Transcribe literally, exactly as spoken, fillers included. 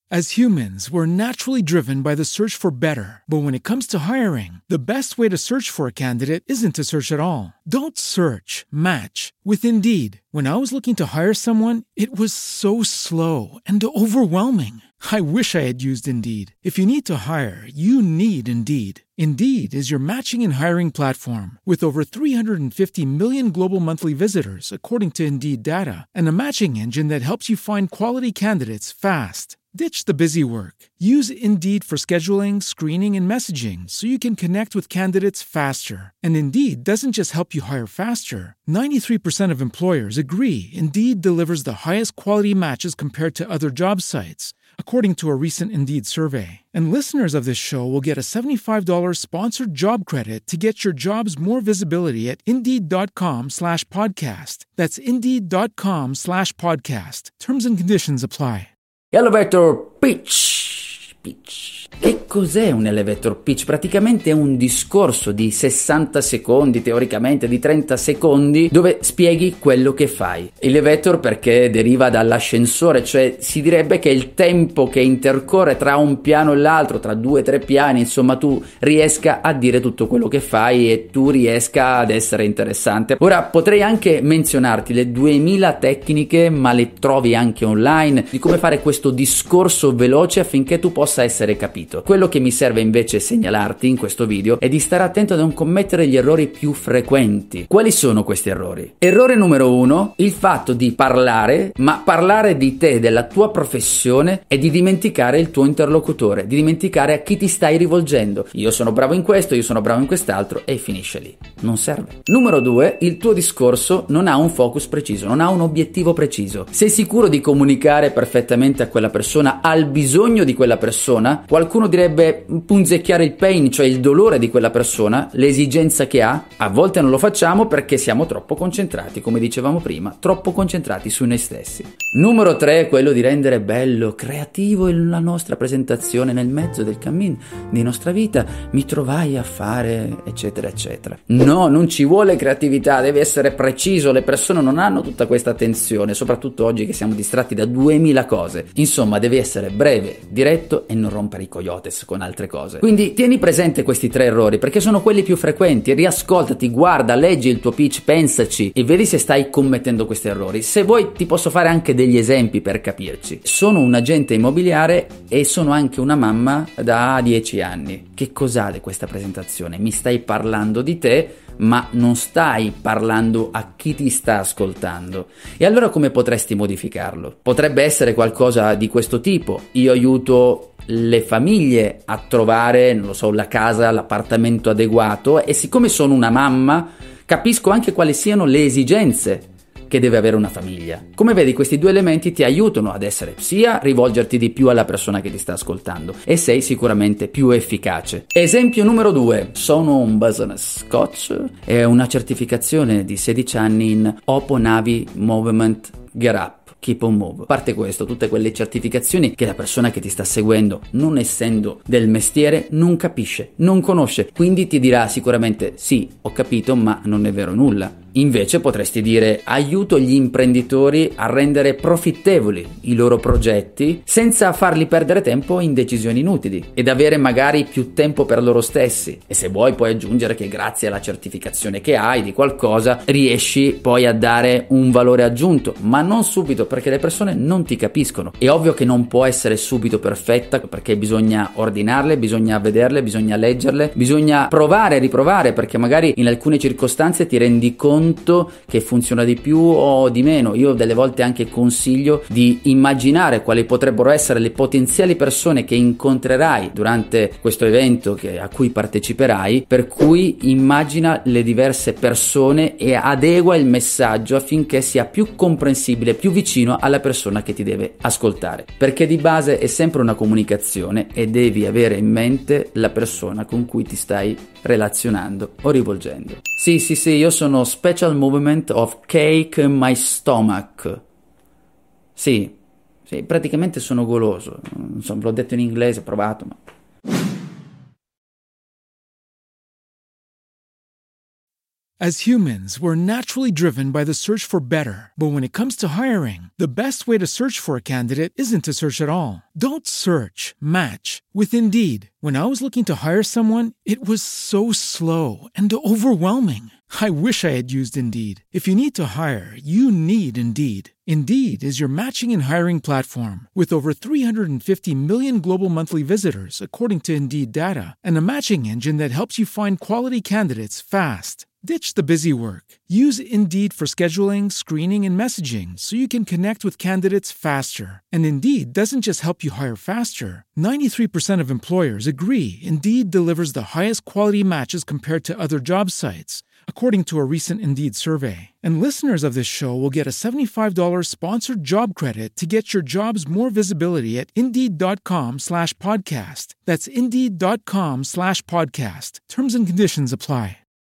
As humans, we're naturally driven by the search for better. But when it comes to hiring, the best way to search for a candidate isn't to search at all. Don't search, match with Indeed. When I was looking to hire someone, it was so slow and overwhelming. I wish I had used Indeed. If you need to hire, you need Indeed. Indeed is your matching and hiring platform with over three hundred fifty million global monthly visitors, according to Indeed data, and a matching engine that helps you find quality candidates fast. Ditch the busy work. Use Indeed for scheduling, screening, and messaging so you can connect with candidates faster. And Indeed doesn't just help you hire faster. ninety-three percent of employers agree Indeed delivers the highest quality matches compared to other job sites, according to a recent Indeed survey. And listeners of this show will get a seventy-five dollars sponsored job credit to get your jobs more visibility at Indeed.com slash podcast. That's Indeed.com slash podcast. Terms and conditions apply. Elevator pitch. Pitch. Che cos'è un elevator pitch? Praticamente è un discorso di sessanta secondi, teoricamente di trenta secondi, dove spieghi quello che fai. Elevator perché deriva dall'ascensore, cioè si direbbe che il tempo che intercorre tra un piano e l'altro, tra due o tre piani, insomma tu riesca a dire tutto quello che fai e tu riesca ad essere interessante. Ora potrei anche menzionarti le duemila tecniche, ma le trovi anche online, di come fare questo discorso veloce affinché tu possa essere capito. Quello che mi serve invece segnalarti in questo video è di stare attento a non commettere gli errori più frequenti. Quali sono questi errori? Errore numero uno, il fatto di parlare, ma parlare di te, della tua professione, e di dimenticare il tuo interlocutore, di dimenticare a chi ti stai rivolgendo. Io sono bravo in questo, io sono bravo in quest'altro, e finisce lì. Non serve. Numero due, il tuo discorso non ha un focus preciso, non ha un obiettivo preciso. Sei sicuro di comunicare perfettamente a quella persona, al bisogno di quella persona? Qualcuno direbbe punzecchiare il pain, cioè il dolore di quella persona, l'esigenza che ha. A volte non lo facciamo perché siamo troppo concentrati, come dicevamo prima, troppo concentrati su noi stessi. Numero tre è quello di rendere bello, creativo la nostra presentazione. Nel mezzo del cammin di nostra vita mi trovai a fare eccetera eccetera. No, non ci vuole creatività, deve essere preciso. Le persone non hanno tutta questa attenzione, soprattutto oggi che siamo distratti da duemila cose. Insomma, devi essere breve, diretto e non rompere i cogliotes con altre cose. Quindi tieni presente questi tre errori perché sono quelli più frequenti. Riascoltati, guarda, leggi il tuo pitch, pensaci e vedi se stai commettendo questi errori. Se vuoi ti posso fare anche degli esempi per capirci. Sono un agente immobiliare e sono anche una mamma da dieci anni. Che cos'ha questa presentazione? Mi stai parlando di te, ma non stai parlando a chi ti sta ascoltando. E allora come potresti modificarlo? Potrebbe essere qualcosa di questo tipo: io aiuto le famiglie a trovare, non lo so, la casa, l'appartamento adeguato, e siccome sono una mamma capisco anche quali siano le esigenze che deve avere una famiglia. Come vedi, questi due elementi ti aiutano ad essere sia rivolgerti di più alla persona che ti sta ascoltando e sei sicuramente più efficace. Esempio numero due, sono un business coach e una certificazione di sedici anni in Open Navi Movement Get Up. Keep on Move. A parte questo, tutte quelle certificazioni che la persona che ti sta seguendo, non essendo del mestiere, non capisce, non conosce, quindi ti dirà sicuramente sì, ho capito, ma non è vero nulla. Invece potresti dire: aiuto gli imprenditori a rendere profittevoli i loro progetti senza farli perdere tempo in decisioni inutili ed avere magari più tempo per loro stessi. E se vuoi puoi aggiungere che grazie alla certificazione che hai di qualcosa riesci poi a dare un valore aggiunto, ma non subito, perché le persone non ti capiscono. È ovvio che non può essere subito perfetta perché bisogna ordinarle, bisogna vederle, bisogna leggerle, bisogna provare e riprovare, perché magari in alcune circostanze ti rendi conto che funziona di più o di meno. Io delle volte anche consiglio di immaginare quali potrebbero essere le potenziali persone che incontrerai durante questo evento che, a cui parteciperai, per cui immagina le diverse persone e adegua il messaggio affinché sia più comprensibile, più vicino alla persona che ti deve ascoltare, perché di base è sempre una comunicazione e devi avere in mente la persona con cui ti stai relazionando o rivolgendo. Sì, sì, sì, io sono Special Movement of Cake in My Stomach. Sì, sì, praticamente sono goloso. Non so, ve l'ho detto in inglese, ho provato, ma... As humans, we're naturally driven by the search for better. But when it comes to hiring, the best way to search for a candidate isn't to search at all. Don't search, match with Indeed. When I was looking to hire someone, it was so slow and overwhelming. I wish I had used Indeed. If you need to hire, you need Indeed. Indeed is your matching and hiring platform with over three hundred fifty million global monthly visitors, according to Indeed data, and a matching engine that helps you find quality candidates fast. Ditch the busy work. Use Indeed for scheduling, screening, and messaging so you can connect with candidates faster. And Indeed doesn't just help you hire faster. ninety-three percent of employers agree Indeed delivers the highest quality matches compared to other job sites, according to a recent Indeed survey. And listeners of this show will get a seventy-five dollars sponsored job credit to get your jobs more visibility at Indeed.com slash podcast. That's Indeed.com slash podcast. Terms and conditions apply.